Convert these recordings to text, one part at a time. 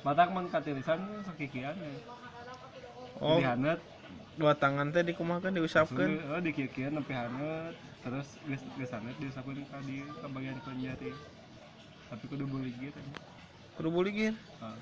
Matak mun katirisan sakikian ya. Oh, Jadi haneut. dua tangan teh dikumakan diusapkan. Oh dikikian sampai haneut. Terus geus haneut diusapkeun ka bagian jari. Tapi kudu buligir. Kudu buligir. Heeh.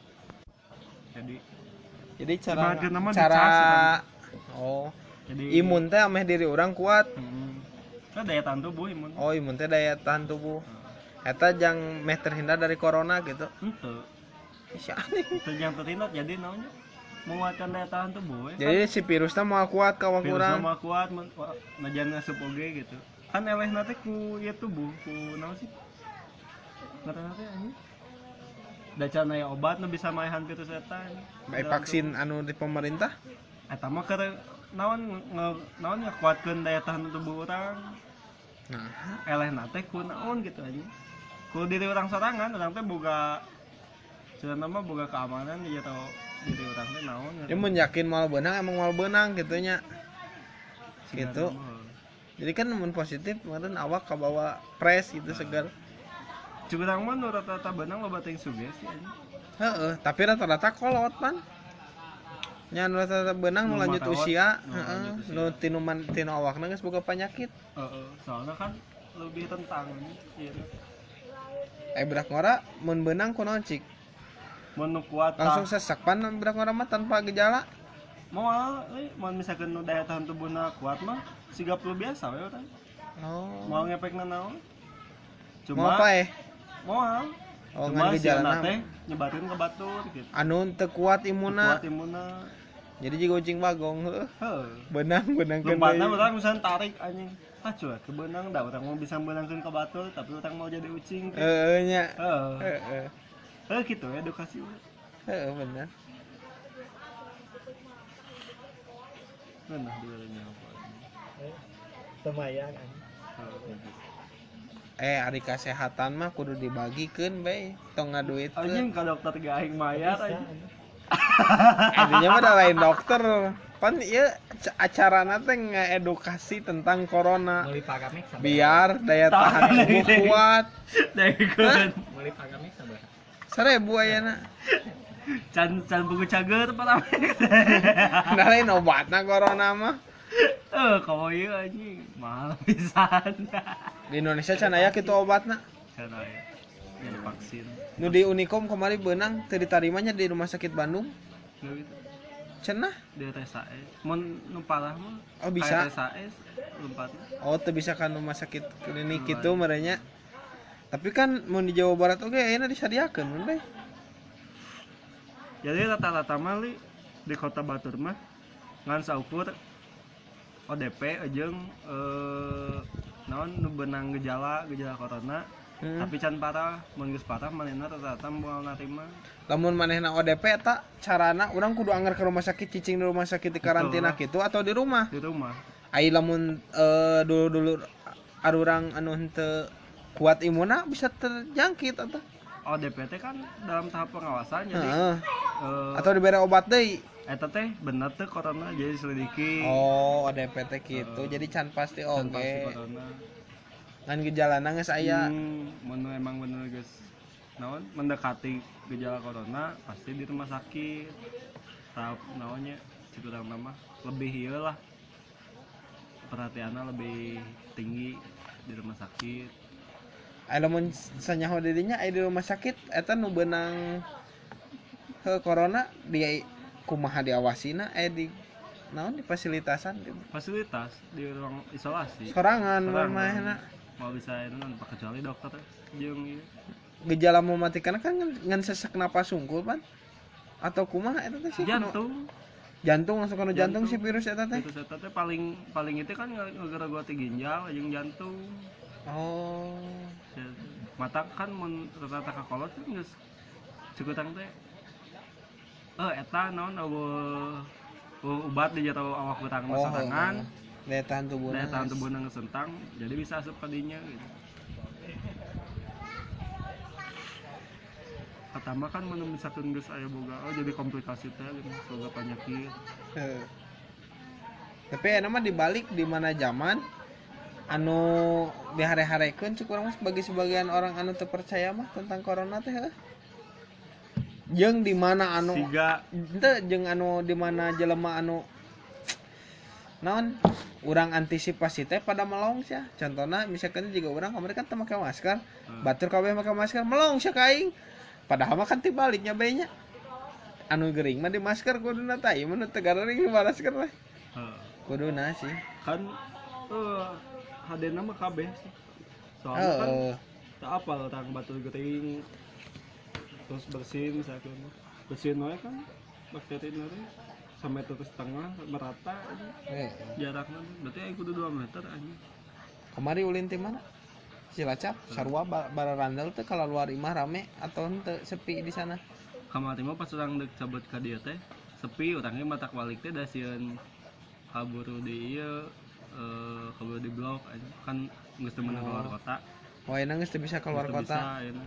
Jadi Cara ibaratkeun mah cara dicas, oh jadi imun teh ameh diri orang kuat. Kan daya tahan tubuh imun. Oh, imun teh daya tahan tubuh. Eta jang meh terhindar dari corona gitu. Henteu. Sia aneh. Itu yang terhindar jadi namanya menguatkan daya tahan tubuh. Jadi si virusnya mau kuat ka virus urang. mah kuat najan ngasup oge gitu. Kan elehna teh ku ieu tubuh, ku naon sih? Ngaranna teh anjing. Da can aya obat nu bisa maehan virus eta. Baik vaksin anu di pemerintah. Eta mah keur naon ngakuatkeun daya tahan tubuh urang. Nah, Elehna teh ku naon gitu anjing. Ku diri urang sorangan, urang teh boga cenah mah boga keamanan ya tau diri urang teh naon. dia mun yakin moal beunang emang moal beunang gitu nya. Gitu. Jadi kan mun positif meureun awak kabawa pres gitu segar. Curang mah nu rata-rata beunang loba teh sugesti anjing. Heeh, tapi rata-rata kolot pan. Nya nu rata-rata beunang nu lanjut usia, heeh, nu tinu awakna geus boga panyakit. Heeh, soalnya kan lebih tentang ieu. Berak ngora mun beunang kunaon cik? Mun nu kuat Langsung sesek pan berak ngora mah tanpa gejala. Moal mun misalkeun nu daya tahan tubuhna kuat mah siga flu biasa we urang. Oh. Moal ngepekna naon? Mau apa Moal. Oh, ngan gejala teh nyebarin ke batur gitu. Anu teu kuat imunna. Kuat imunna. Jadi jiga ucing bagong heuh. Benang keun. Lompatna urang misalnya tarik anjing. Cuek ke benang da urang mau bisa benangkeun ke batur tapi urang mau jadi ucing. Heeh nya. Heeh. Gitu edukasi. Heeh bener. Nah diurangnya apa? Lumayan kan. Ari kesehatan mah kudu dibagikeun bae, tong ngaduitkeun. Anjing ka dokter ge aing mayar anjing. Intinya mah da lain dokter. Pan ieu acarana teh ngaedukasi tentang corona. Biar daya tahan tubuh kuat. Daekeun. Meuli pagamek sabar. 1000 ayeuna. Can buku cager pertama. Da lain obatna corona mah. Kalau ieu anjing mahal pisan. Di Indonesia can aya kitu obatna. Can aya. Jadi vaksin. Nu di Unicom kemari beunang teu ditarimanya di Rumah Sakit Bandung. Gitu. Cenah Di RSAS. Mun nu parah mah bisa. RSAS lompatna. Oh, teu bisa kan rumah sakit klinik kitu merenya. Tapi kan mun di Jawa Barat oge ayeuna disadiakeun mun bae. Jadi rata-rata mah di Kota Batur mah ngan saukur ODP jeung naon nu beunang gejala corona. Tapi can parah, mun geus parah manehna rata-rata moal narima. Lamun manehna ODP eta carana urang kudu anggar ke rumah sakit cicing di rumah sakit di karantina kitu atau di rumah? Di rumah. Ai lamun dulu arurang anu henteu kuat imunna bisa terjangkit eta. ODP teh kan dalam tahap pengawasan jadi atau dibere obat deui. Eta teh bener teh corona jadi selidiki. Oh, ODP teh kitu. Jadi can pasti oge. Can pasti corona. Ngan gejalana geus aya. Mun emang bener geus naon mendekati gejala corona pasti di rumah sakit. Tahap naonnya cikurang mah lebih ieu lah. Perhatianna lebih tinggi di rumah sakit. Lamun sanyaho dirinya aya di rumah sakit eta nu beunang corona dia kumaha diawasina di naon di fasilitasan gitu. Fasilitas di ruang isolasi. Sorangan mah mau bisa itu kan kecuali dokter jeung ieu. Gejala mematikan kan ngan sesak napas sungkul pan atau kumaha eta teh sih? Jantung langsung kana jantung si virus eta teh. Virus eta teh paling itu kan ngegera-geroti ginjal jeung jantung. Oh. Mata kan mun rata-rata ka kolot kan geus cukutang teh. Eta naon ubat di jatuh awak urang masarangan. Daya tahan tubuhna ngesentang jadi bisa asup ka dinya gitu. Pertama kan mun misalkeun geus aya boga jadi komplikasi teh gitu, boga penyakit. Tapi aya mah dibalik di mana zaman anu dihare-harekeun cuk urang mah bagi sebagian orang anu teu percaya mah tentang corona teh jeung di mana anu siga henteu jeung anu di mana jelema anu naon urang antisipasi teh pada melong sia. Contohna misalkan juga urang kamari kan teu make masker, batur kabeh make masker melong sia ka aing. Padahal mah kan tibaliknya bae nya. Anu gering mah di masker kuduna tah ieu mah teu garing di masker teh. Kuduna sih. kan hadena mah kabeh sih. Soalnya kan tak apal tang batur gering terus bersin misalkan bersin wae kan bakteri nanti sampai terus tengah merata aja jaraknya berarti aku kudu 2 meter aja. Kamari ulin ti mana? Cilacap, sarua bararandel teh kalau luar imah rame atau henteu sepi di sana? Kamari mah pas urang deuk cabut ka dieu teh sepi, urangnya matak balik teh da sieun kaburu di ieu kaburu di blok aja kan geus teu meunang keluar kota. Oh, enak geus teu bisa keluar Geus teu kota. bisa, enak.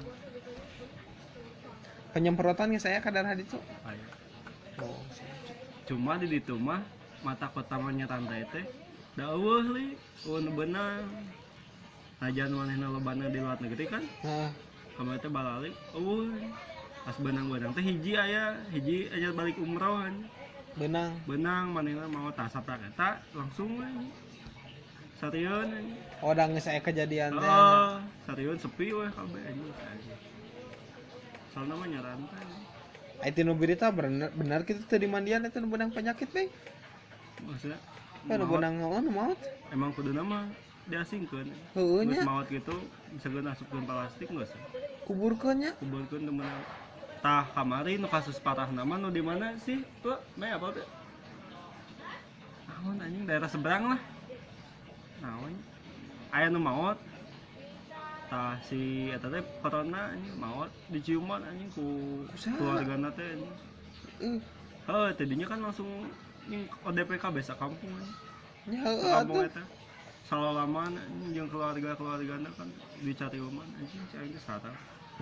Penyemprotan geus aya kadar haditu. Aya. Oh. Cuma di ditu mah mata kota mah nya rantai teh da eueuh li, eueuh beunang. Najan manehna lobana di luar negeri kan, Heeh. kamari teh balalik eueuh. Pas beunang-beunang teh hiji aja balik umroh anjing. Beunang manehna mau tah saprak eta langsung we. Sarieun anjing. Oh, da geus aya kejadian teh. Sarieun sepi we kabeh anjing. Soalna mah nya rantai. Ai tinu berita bener kitu teu dimandian eta nu beunang penyakit bae. Maksudnya Nu beunang naon maot? emang kuduna mah diasingkeun. Heueuh Geus nya. maot kitu misalkan asupkeun plastik geus. Kuburkeun nya. Kuburkeun teu meunang. Tah kamari nu kasus parah nama nu di mana sih? Tuh, apa tuh? Naon anjing daerah seberang lah. Naon? Aya nu maot. Tah si eta teh corona anjing maot diciuman anjing ku keluargana teh anjing. Tadinya kan langsung ning ODP kabeh sakampung anjing. Nya Sakampung eta. Salalaman anjing jeung keluargana kan dicariuman anjing si aing teh sareng.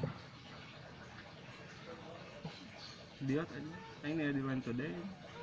Dia aja ini di Line Today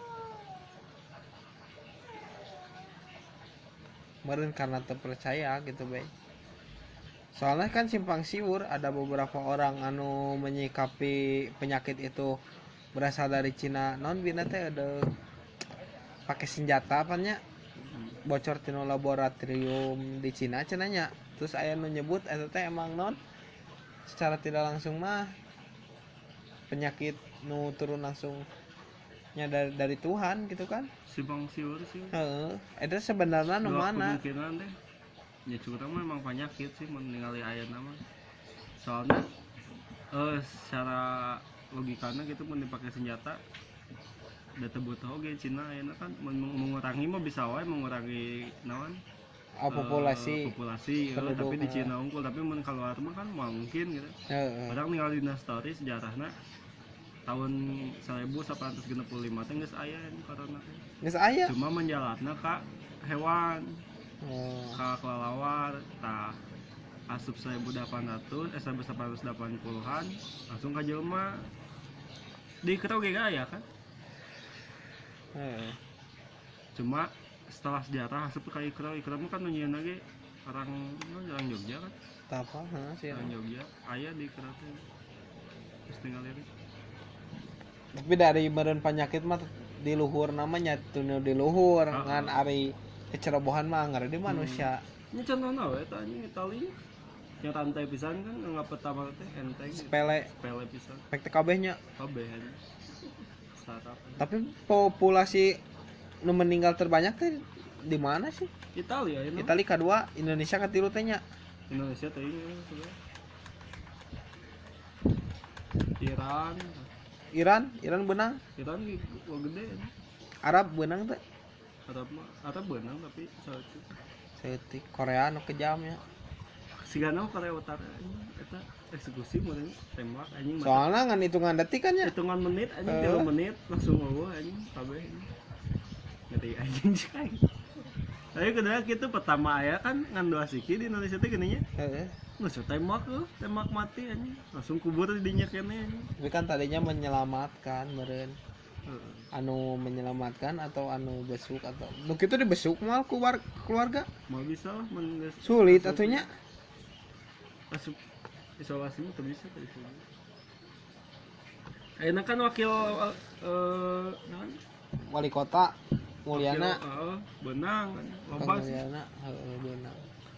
meureun karena terpercaya gitu bae. Soalnya kan simpang siur ada beberapa orang anu menyikapi penyakit itu berasal dari Cina. Non bina teh ada pakai senjata apanya bocor tino laboratorium di Cina cenanya. Terus aya nu nyebut eta teh emang non secara tidak langsung mah penyakit nu turun langsungnya dari Tuhan gitu kan. simpang siur sih. Itu sebenarnya nu mana? Kemungkinan deh. Ya curang mah emang penyakit sih meninggali ayat nama. Soalnya secara logikanya gitu mun dipakai senjata da teu butuh oge Cina ayeuna kan mengurangi mah bisa wae mengurangi naon? Populasi. Tapi di Cina unggul tapi mun keluar mah kan moal mungkin gitu. Padahal ningali dina story sejarahna tahun 1865 teh geus aya corona teh. Geus aya. Cuma menjalatna ka hewan. Ka kelelawar tah asup 1880-an langsung ka jelema. Di Kerau ge aya kan? Cuma setelah sejarah asup ka Ikrau mah kan nyieun ge orang Jogja kan? Tapa, sih. Orang Jogja aya di Ikrau teh. Terus tinggal lirik. Tapi dari meureun penyakit mah di luhur namanya tunu di luhur ngan ari kecerobohan mah ngare di manusia. Ini contohna we tah anjing Itali. Yang rantai pisan kan anggap pertama teh enteng. Sepele pisan. Pek teh kabehnya. Kabeh anjing. Startup. Tapi populasi nu meninggal terbanyak teh di mana sih? Italia ya. Italia kedua, Indonesia ketilu teh nya. Indonesia teh ini Iran Iran benang. Iran gede. Arab benang teh. Arab benang tapi Seutik Korea nu kejam ya. Sigana Korea Utara eta eksekusi meureun tembak anjing. Soalnya ngan hitungan detik kan ya. Hitungan menit anjing 3 menit langsung eueuh anjing kabeh. Ngeri anjing sih. Tapi kedua kitu pertama aya kan ngan 2 siki di Indonesia teh geuning nya. Geus tembak mati anjing. Langsung kubur di dinya keneh anjing. Tapi kan tadinya menyelamatkan meureun. Anu menyelamatkan atau anu besuk atau nu kitu dibesuk moal keluarga. Mau bisa lah sulit atunya. Asup isolasi mah teu bisa tadi. Ayeuna kan wakil naon? Wali kota Mulyana Wakil, Benang Kang loba sih. Mulyana beunang.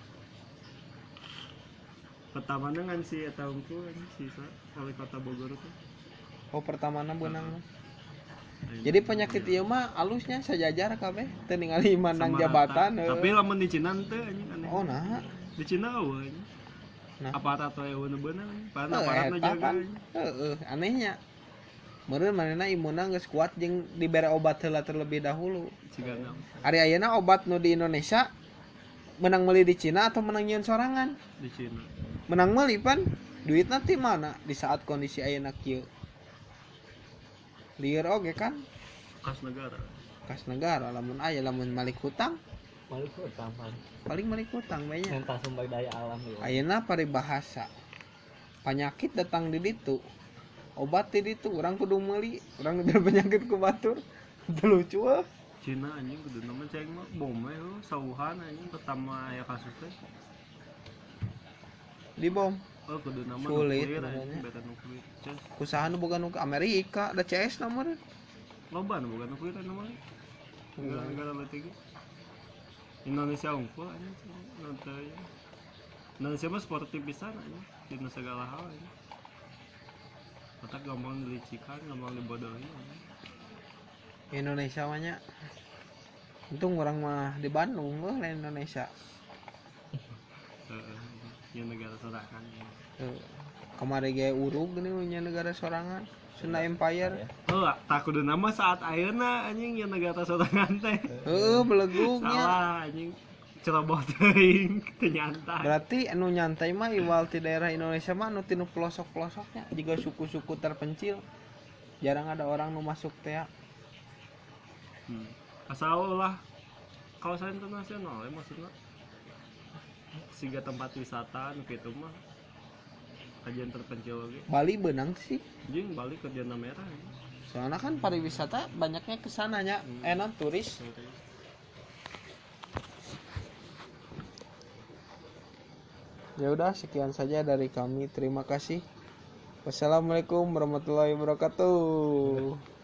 Pertamana kan si eta unggul si wali kota Bogor tuh. Oh pertamana beunang. Ayeuna Jadi penyakit ieu mah alusnya sajajar kabeh teu ningali mandang sama jabatan. rata. Tapi lamun di Cina teu anjing aneh. Oh nah. Di Cina eueuh anjing. Nah. Aparat we beunang. Pan Heuh, aparatna eta jaga. pan. Anehnya. Meureun manehna imunna geus kuat jeung dibere obat heula terlebih dahulu. Cigana. Ari ayeuna obat nu di Indonesia menang meuli di Cina atau menang nyieun sorangan? Di Cina. Menang meuli pan duitna ti mana di saat kondisi ayeuna kieu. Lieur oge kan Kas negara. kas negara lamun aya lamun malik hutang Malik hutang pan. paling malik hutang banyak. Mentah sumber daya alam ya. Ayeuna paribahasa penyakit datang di ditu obat di ditu urang kudu meuli urang ada penyakit ku batur teu lucu ah. Cina anjing kudu nama ceng mah bom we sauhan anjing pertama aya kasus teh. Di bom Kudu nama Sulit, nuklir namanya. anjing beta nuklir. Ces, usaha nu boga nu ke Amerika ada CS na meureun. loba nu bukan nuklir namanya. Negara-negara leutik. Indonesia unggul anjing nanti. Indonesia mah sportif pisan anjing dina segala hal anjing. Otak gampang dilicikan, gampang dibodohi anjing. Indonesia mah nya untung orang mah di Bandung lain Indonesia. Yang negara sorangan. Kemarin gaya urug gini nya negara sorangan Sunda Empire. Tak kudu nama saat ayeuna anjing yang negara sorangan teh. Belegugnya. Salah anjing cerobot teuing teu nyantai. Berarti anu nyantai mah iwal ti daerah Indonesia mah anu tinu pelosok-pelosoknya juga suku-suku terpencil. Jarang ada orang nu masuk teh. Asal lah kawasan internasional ya maksudnya. Siga tempat wisata nu kitu mah kajian terpencil oge. Bali benang sih. Jeung balik ke zona merah. Soalnya kan pariwisata banyaknya ke sananya. Non turis. Ya udah sekian saja dari kami. Terima kasih. Wassalamualaikum warahmatullahi wabarakatuh.